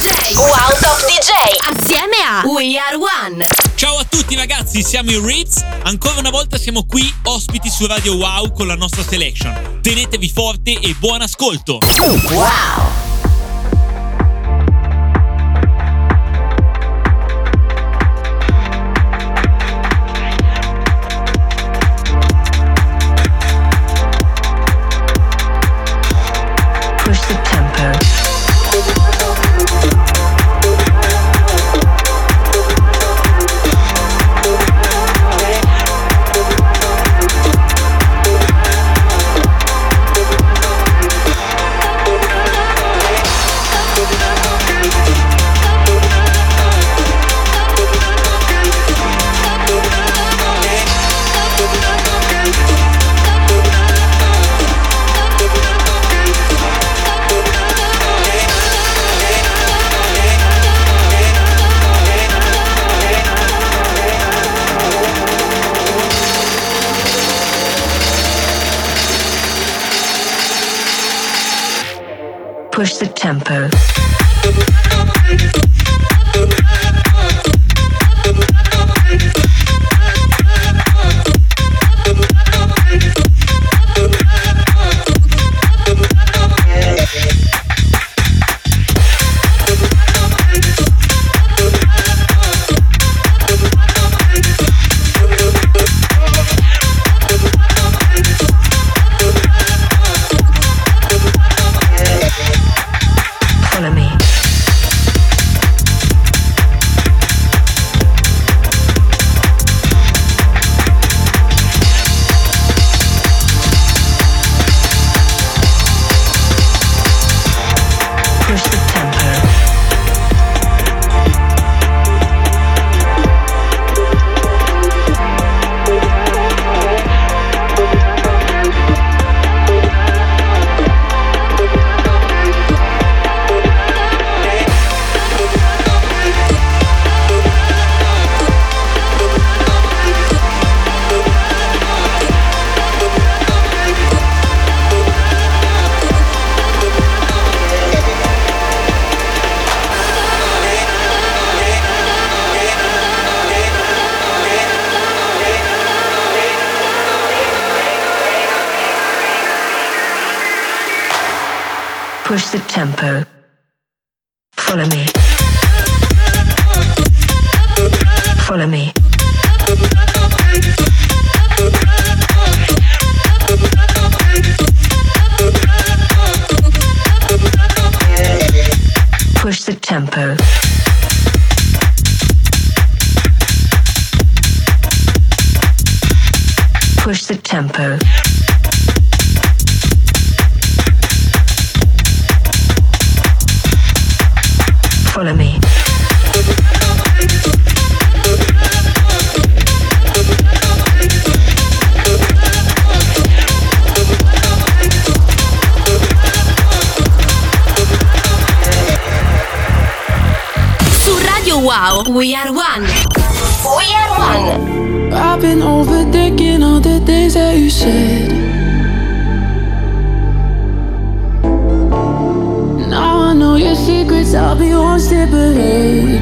DJ Wow Top DJ assieme a We Are One. Ciao a tutti ragazzi, siamo i Ritz. Ancora una volta siamo qui ospiti su Radio Wow con la nostra selection. Tenetevi forte e buon ascolto. Wow. Push the tempo. Push the tempo. Follow me. Push the tempo. Push the tempo. Follow me. Follow me. Push the tempo. Push the tempo. Follow me. Su Radio Wow, We Are One. We Are One. I've been overthinking all the things that you said. Now I know your secrets, I'll be one step ahead.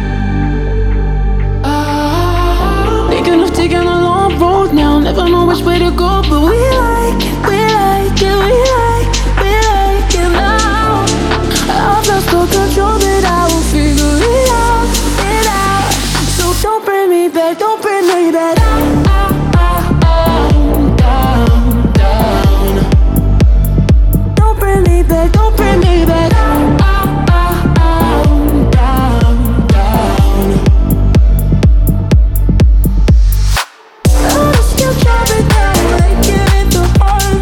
Thinking of taking a long road now, never know which way to go, but we like it, we like it, we like it now. I've lost all control, but I will figure it out, it out. So don't bring me back, don't bring me back. Down, down. Don't bring me back, don't bring me back. Down, down. I still try, but now I give it the heart.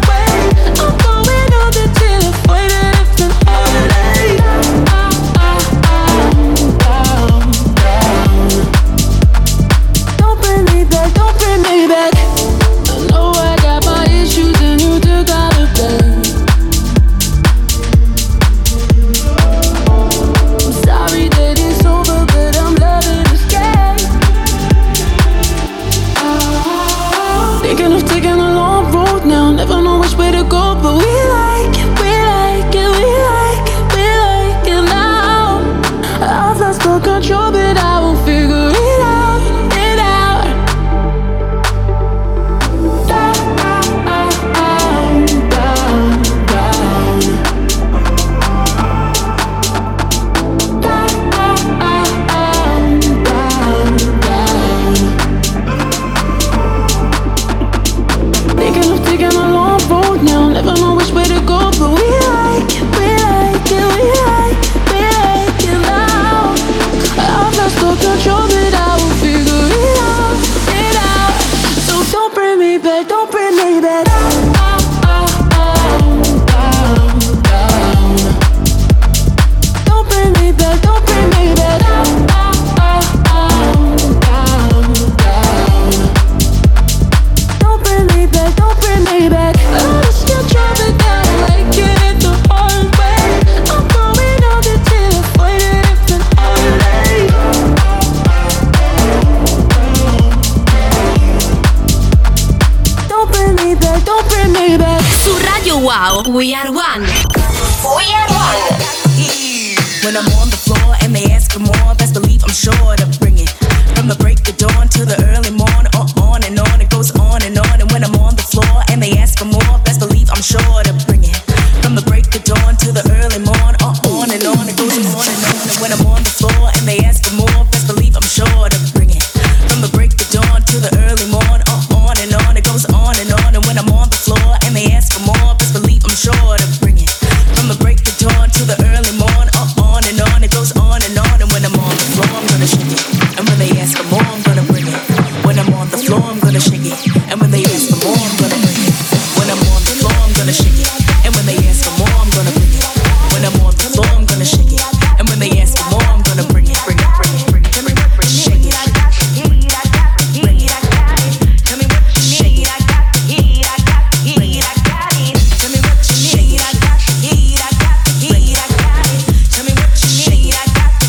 Wow, we are one. We are one. When I'm on the floor and they ask for more, best believe I'm sure to bring it. From the break of dawn to the early morn, on and on, it goes on and on. And when I'm on the floor and they ask for more, best believe I'm sure to bring it. From the break of dawn to the early morn, on and on, it goes on and on. And when I'm on the floor and they ask for more, best believe I'm sure to bring it. From the break of dawn to the early morn, on and on, it goes on and on. And when I'm on the floor and they ask for more, best believe I'm sure to bring it. From the break of dawn to the early morn, on and on, it goes on and on. And when I'm on the floor, I'm gonna shake it. And when they ask for more, I'm gonna bring it. When I'm on the floor, I'm gonna shake it. And when they ask for more, I'm gonna bring it. When I'm on the floor, I'm gonna shake it. And when they ask for more, I'm gonna bring it. When I'm on the floor, I'm gonna shake it. And when they ask for more, I'm gonna bring it. Bring it, bring it, bring it, bring it, bring it, shake it. Bring it. Tell me what you shake it. Bring it. Tell me what you shake it. Bring it. Tell me what you shake it.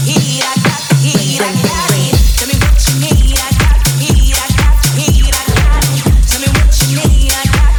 Tell me what you need. Tell me what you need.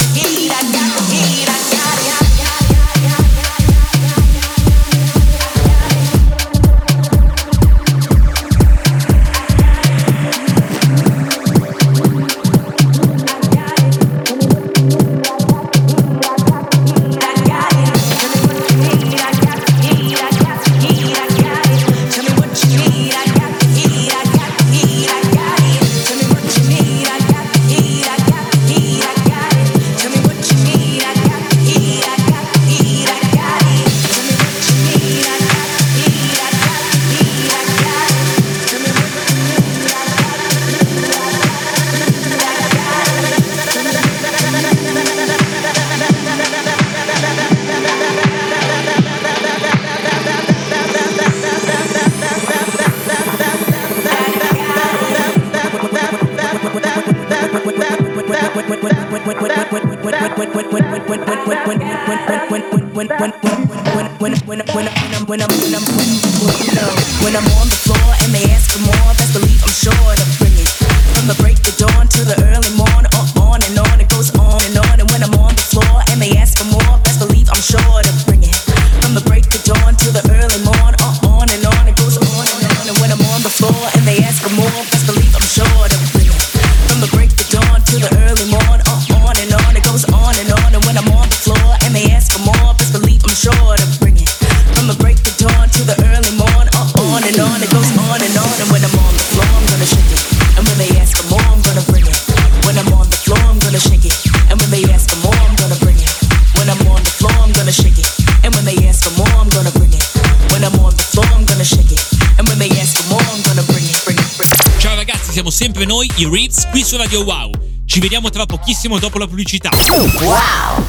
When I'm on the floor and they ask for more, best believe I'm sure to bring it. From the break of dawn to the early morn, on and on, it goes on and on. And when I'm on the floor and they ask for more, best believe I'm sure to bring it. From the break of dawn to the early morn, on and on, it goes on and on. And when I'm on the floor and they ask for more, best believe I'm sure to bring it. From the break of dawn to the early morn, on and on, it goes on and on. And when I'm on the floor and they ask for more, best believe I'm sure to bring it. From the break of dawn to the early morn, on and on, it goes on and on. And when I'm on the floor, I'm gonna shake it. And when they ask for more, I'm gonna bring it. When I'm on the floor, I'm gonna shake it. And when they ask for more, I'm gonna bring it. When I'm on the floor, I'm gonna shake it. And when they ask for more, I'm gonna bring it. When I'm on the floor, I'm gonna shake it. And when they ask for more, I'm gonna bring it, bring it, bring it. Ciao ragazzi, siamo sempre noi, i Ritz, qui su Radio Wow. Ci vediamo tra pochissimo dopo la pubblicità. Wow!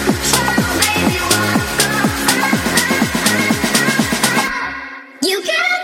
You got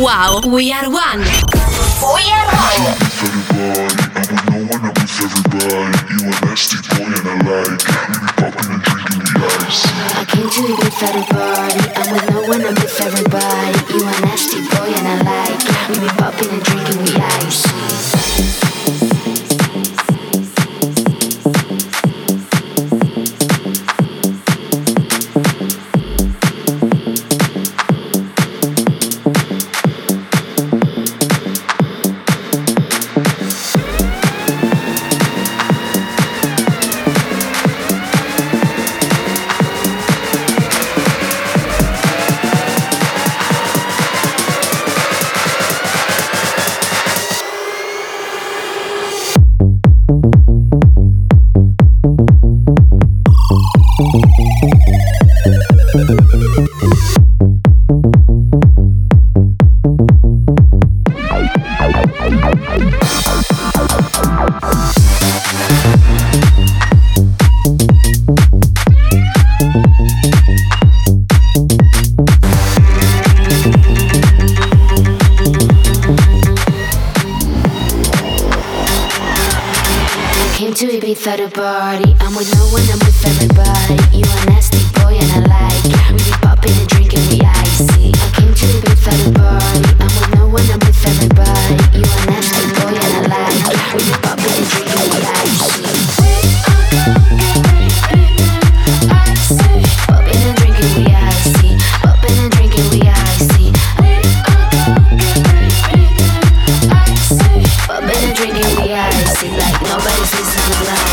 Wow, We Are One. We Are One. I came to the big fat party. I'm with no one, I'm with everybody. You a nasty boy and I like. We be popping and drinking, we ice. At a party, I'm with no one, I'm with everybody. You a nasty boy and I like. We be popping and drinking, we icy. I came to the big fat party. I'm with no one, I'm with everybody. You a nasty boy and I like. We be popping and drinking, we icy. Popping and drinking, we icy. Popping and drinking, we icy. Popping and drinking, we icy. Like nobody's listening to life.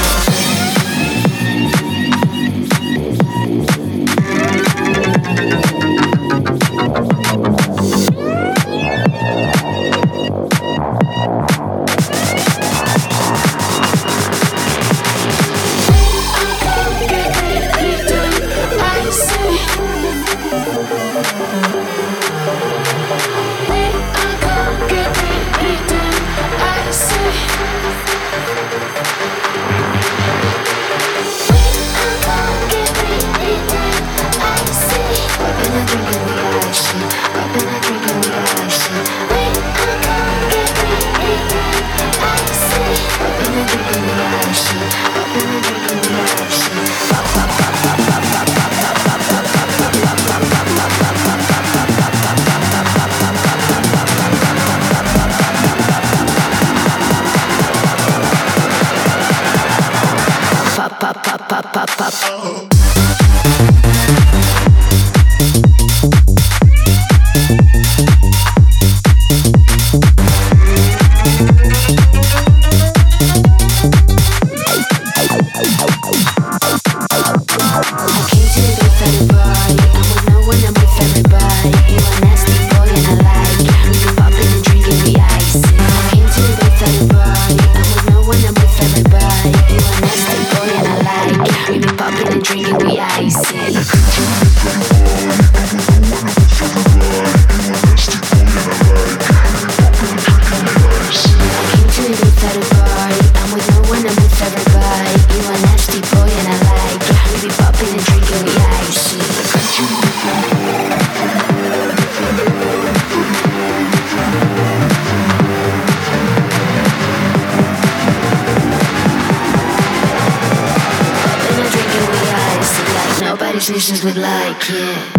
Musicians would like it.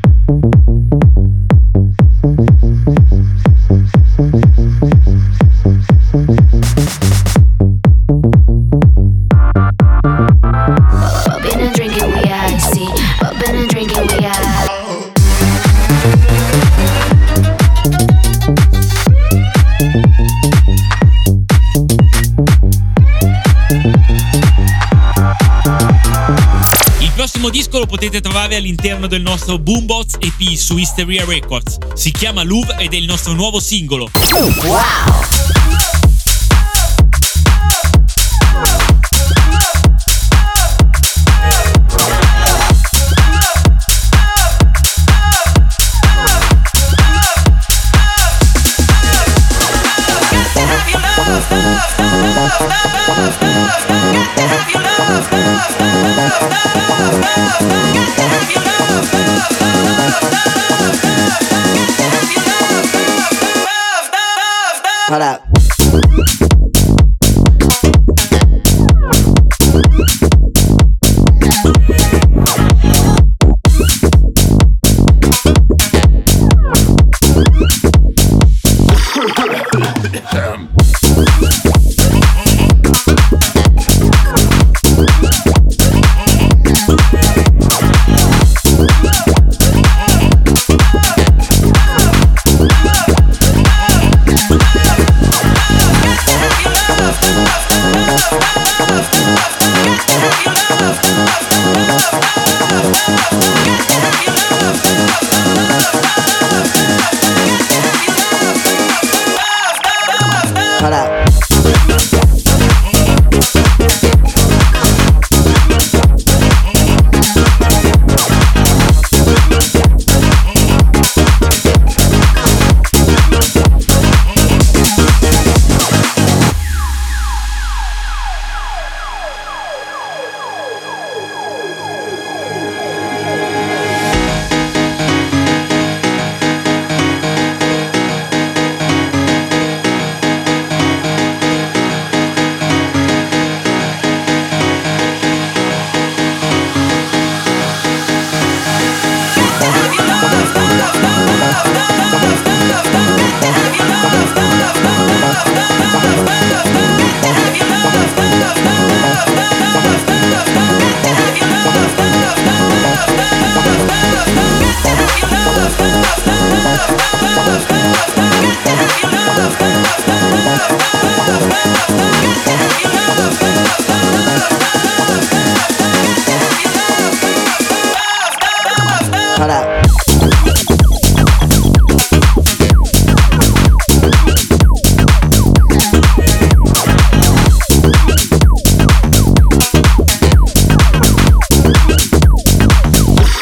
Poppin' and drinking, we icy. Poppin' and drinking, we icy. Il prossimo disco lo potete trovare all'interno del nostro Boombox EP su Hysteria Records. Si chiama Louvre ed è il nostro nuovo singolo. Wow! Got to have your love.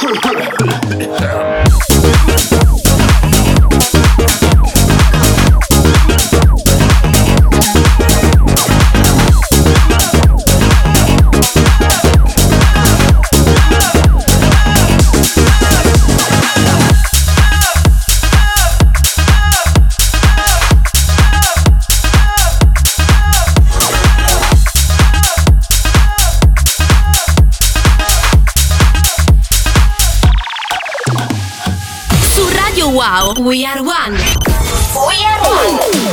Wow, we are one. We are one.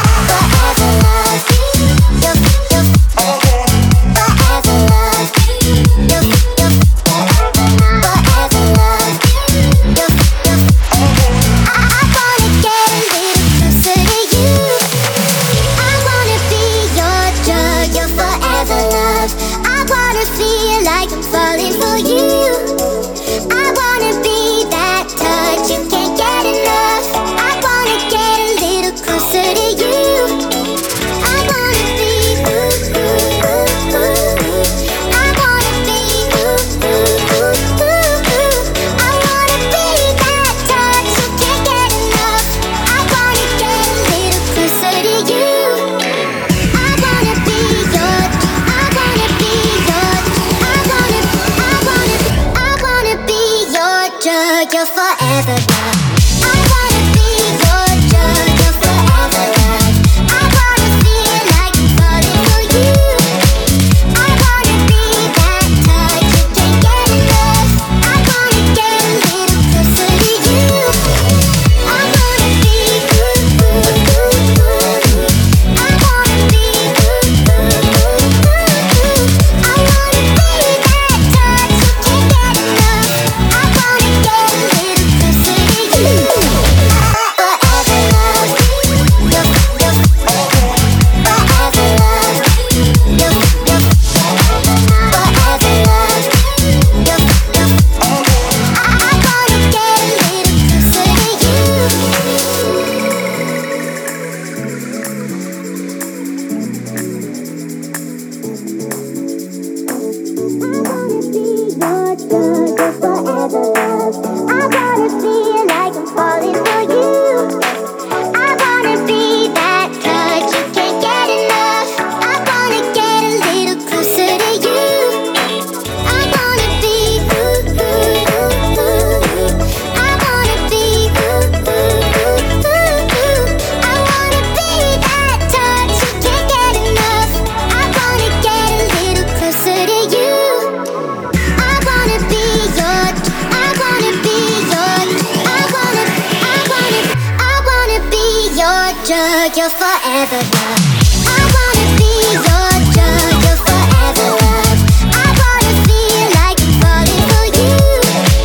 You're forever love. I wanna be your drug. You're forever love. I wanna feel like I'm falling for you.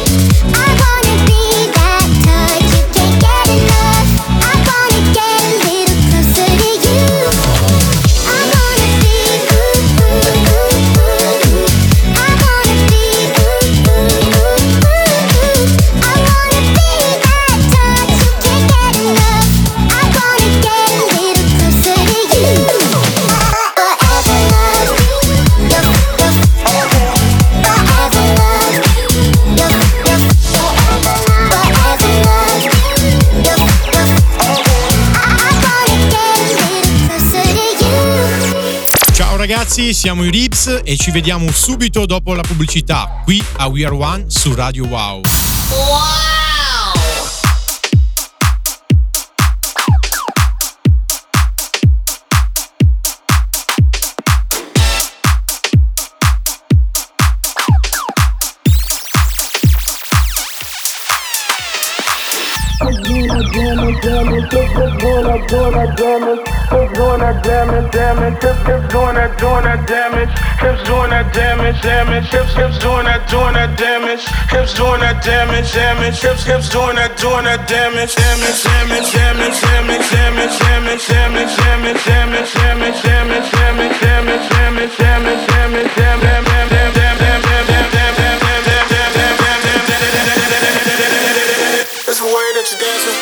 I wanna be that touch you can't get enough. I wanna get a little closer to you. I wanna be ooh, ooh, ooh, ooh. I wanna be ooh, ooh, ooh, ooh. I wanna be that touch you can't get enough. I wanna get a little closer to you. Forever love. Forever love. Forever love. I wanna get a little closer to you. Ciao ragazzi, siamo i Rips e ci vediamo subito dopo la pubblicità qui a We Are One su Radio Wow. It's the way that you're dancing.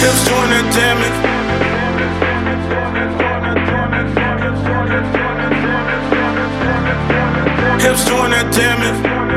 Hips doing that damage. Hips doing that damage.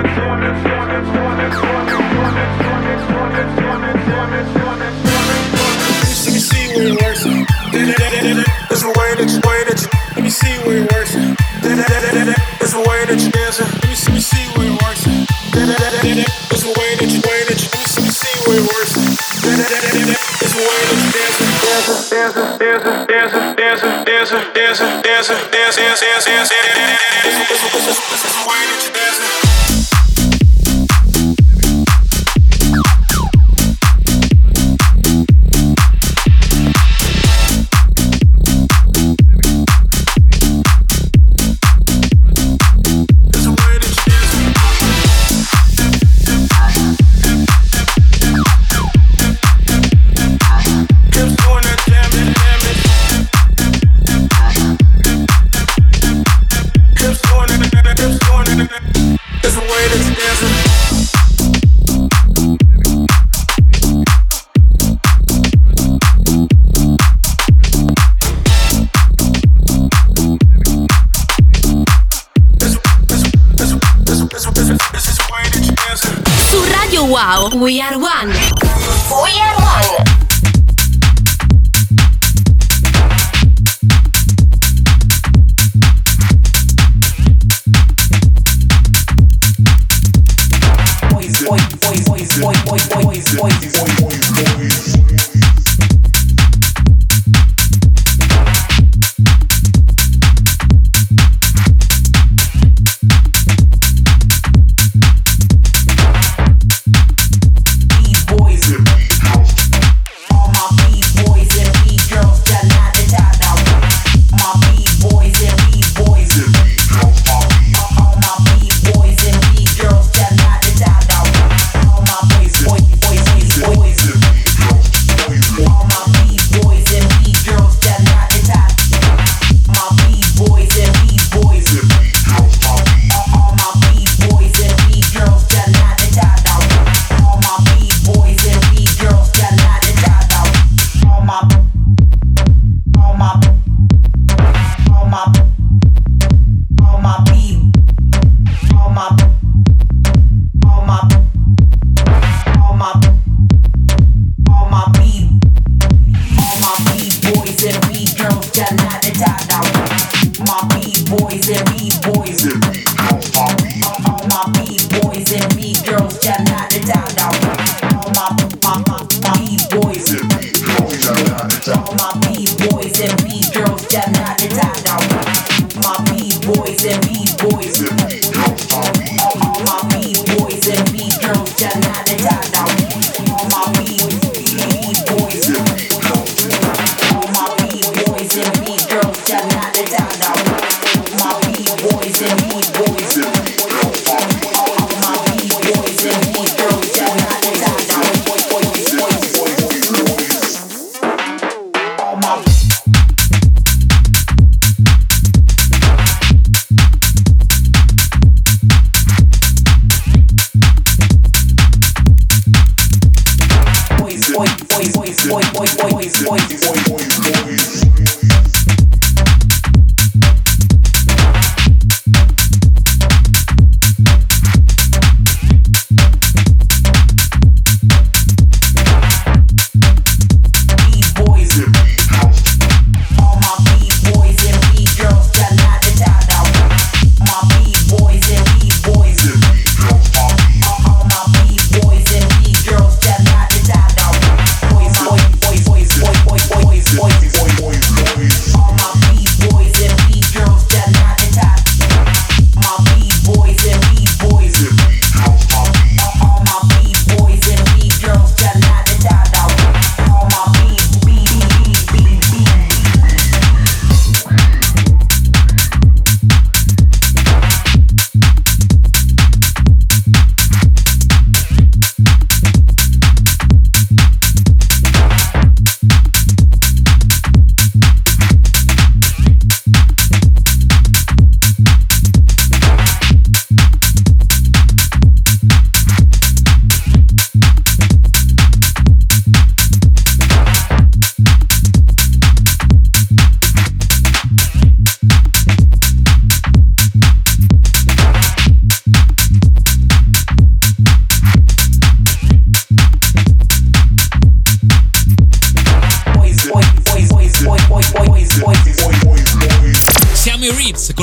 Let me see where it works. There's a way that you. Let me see where it works. There's a way that you dancing. Let me see where it works. There's a way that you. Let me see where it works. There's a way that you dancing. Wow, We Are One. We Are One.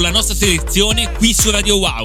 la nostra selezione qui su Radio Wow.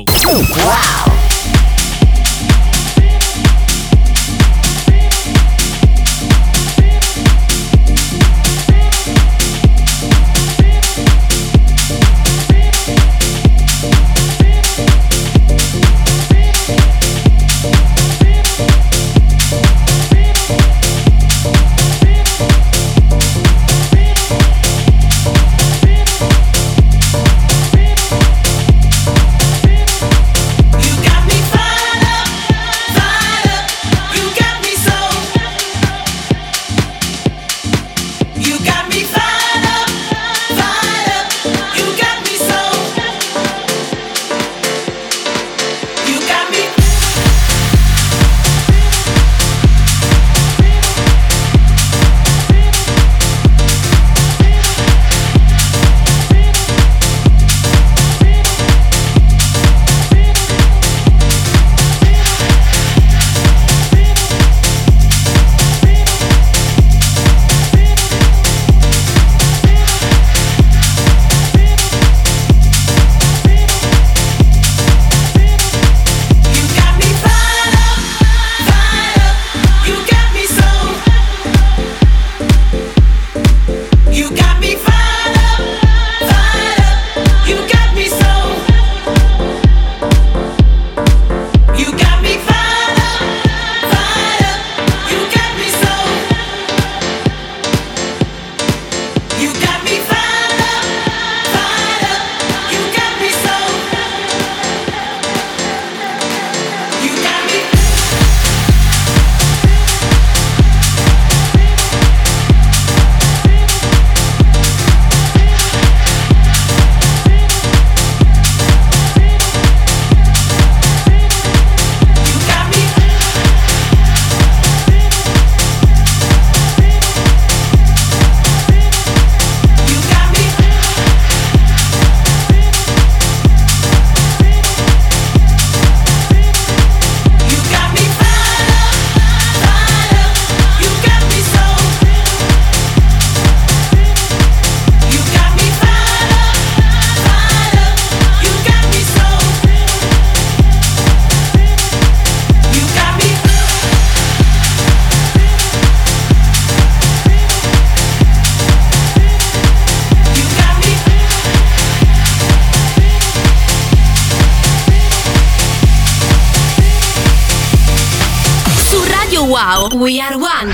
Wow, we are one.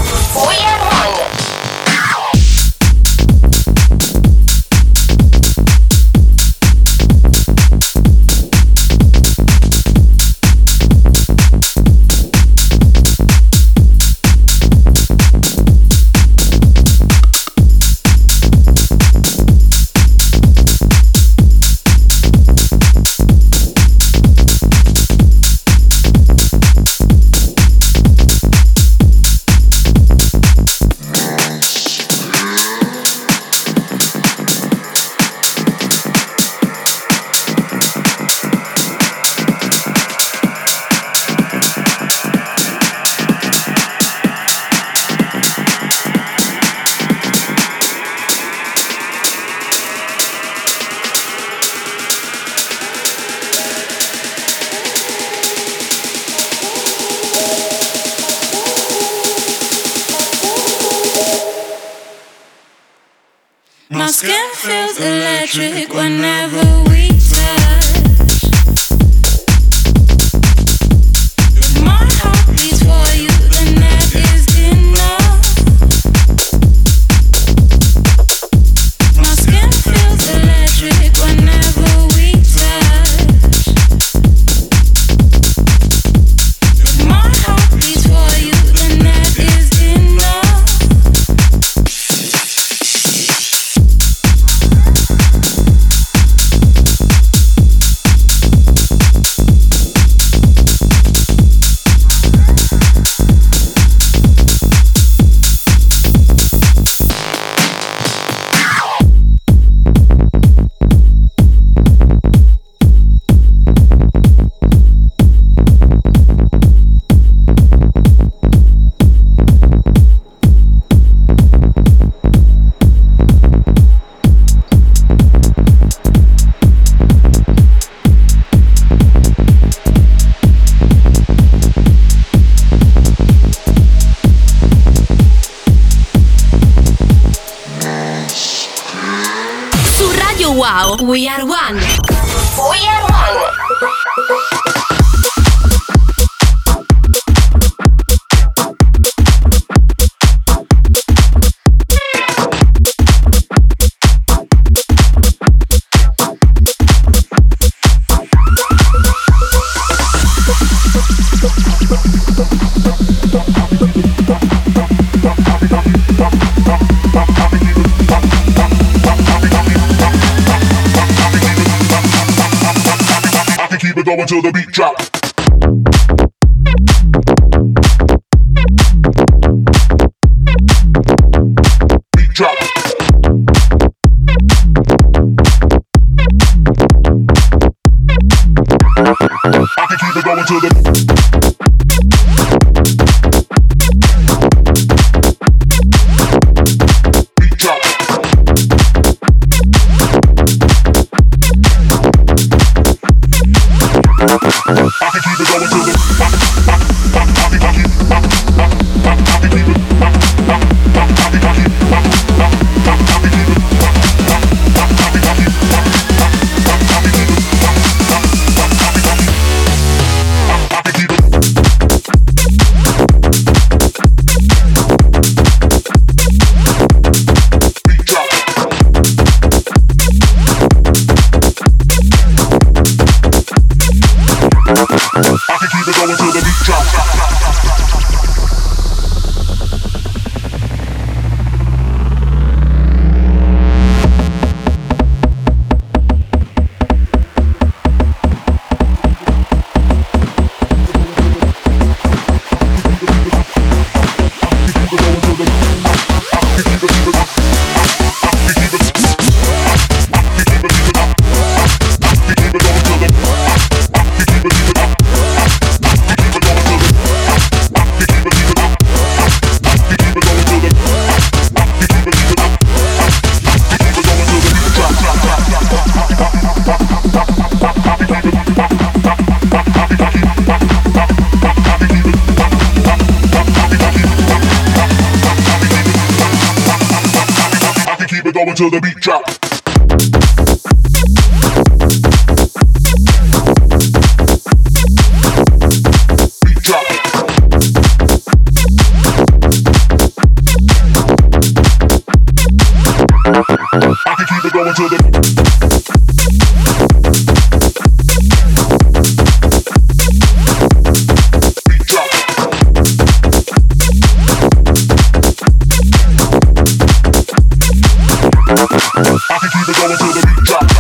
We are one. My skin feels electric whenever we touch. My heart beats for you, and that is enough. My skin feels electric whenever we touch. My heart beats for you, and that is enough. We are one. We are one. Keep it going till the beat drop. Beat drop. I can keep it going till the beat drop. I can keep it going till the beat drop. Going till the beat drop. Beat drop. I can keep it going till the beat drop. I can keep it going till the beat drop.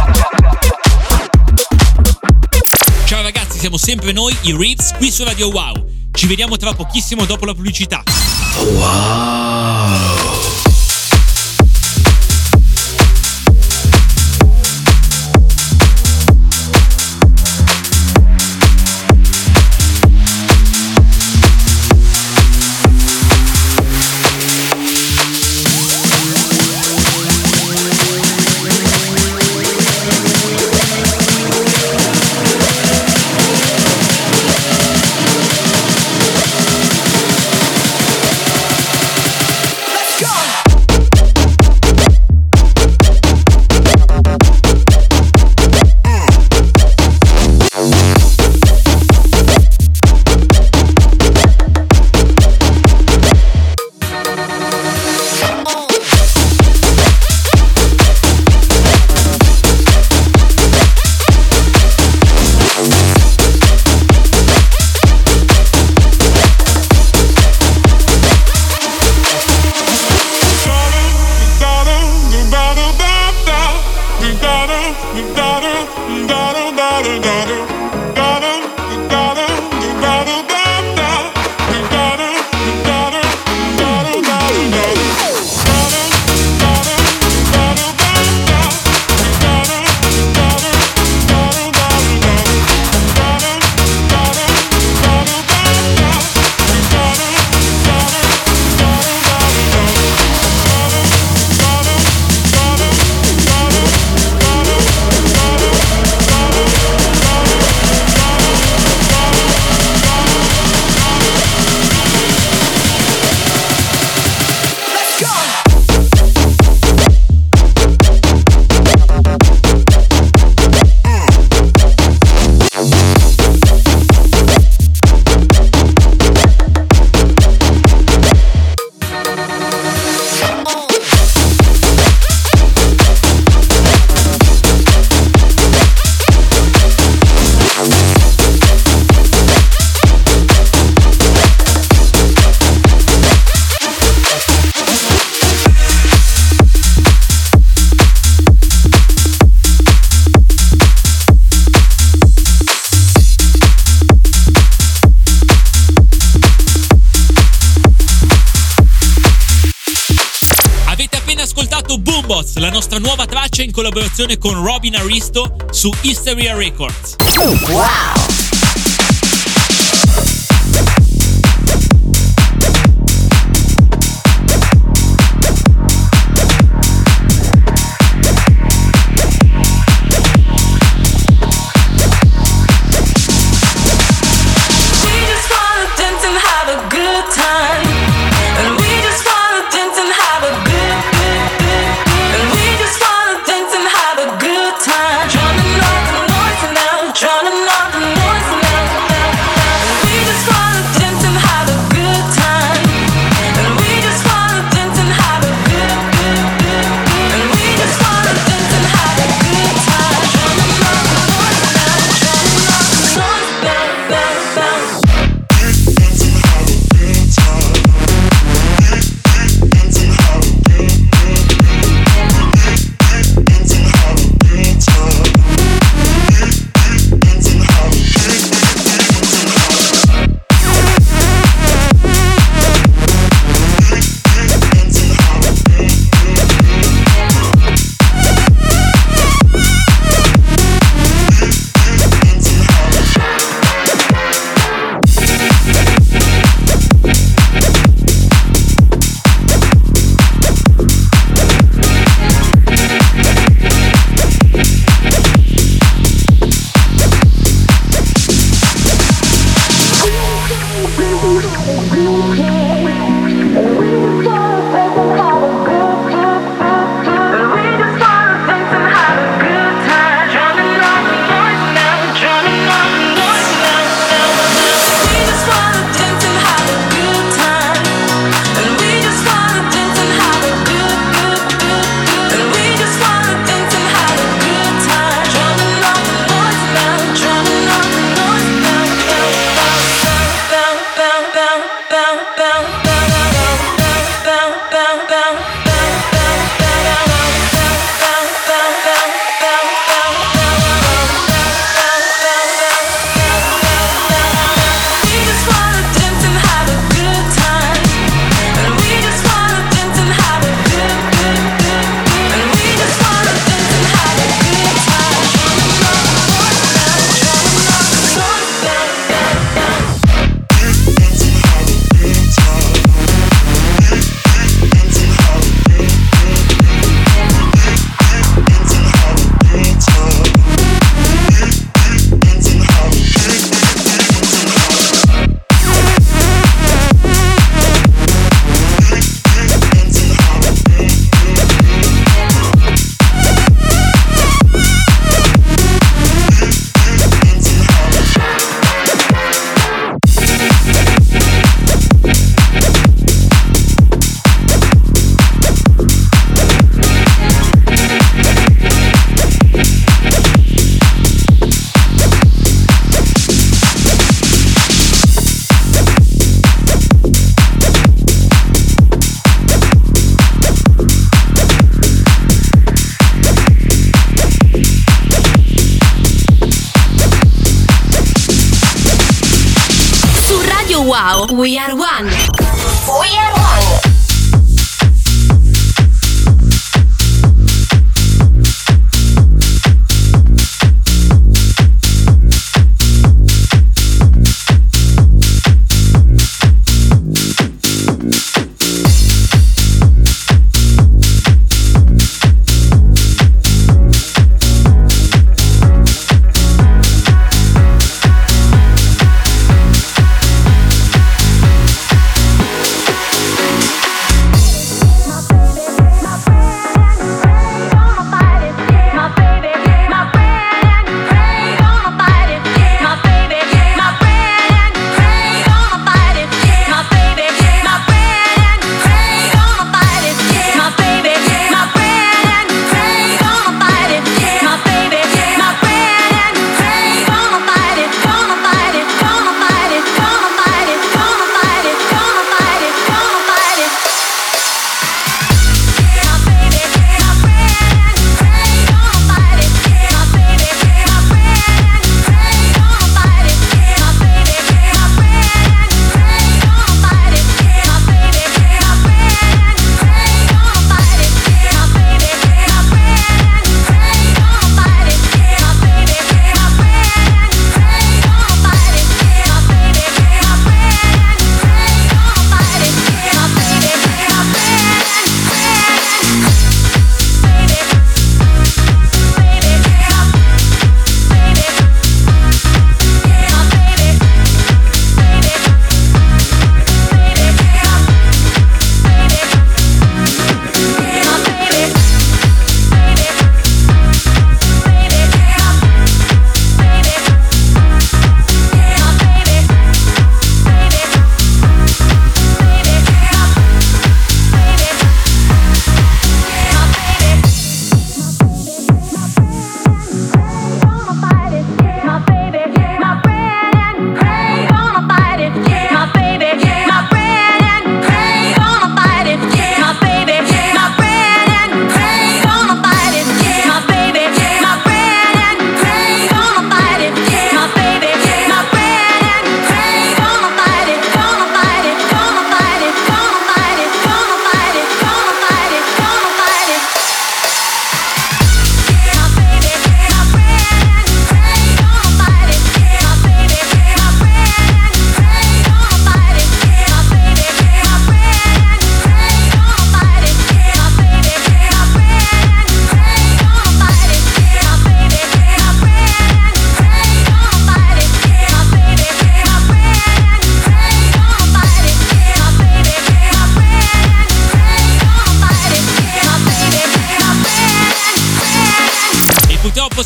Ciao ragazzi, siamo sempre noi, i Ritz, qui su Radio Wow. Ci vediamo tra pochissimo dopo la pubblicità. Wow. Let's go! la nostra nuova traccia in collaborazione con Robin Aristo su Hysteria Records. Wow! Wow, We Are One. We Are One.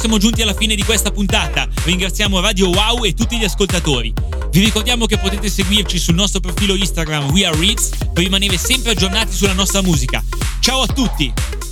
siamo giunti alla fine di questa puntata. Ringraziamo Radio Wow e tutti gli ascoltatori. Vi ricordiamo che potete seguirci sul nostro profilo Instagram We Are Ritz per rimanere sempre aggiornati sulla nostra musica. Ciao a tutti!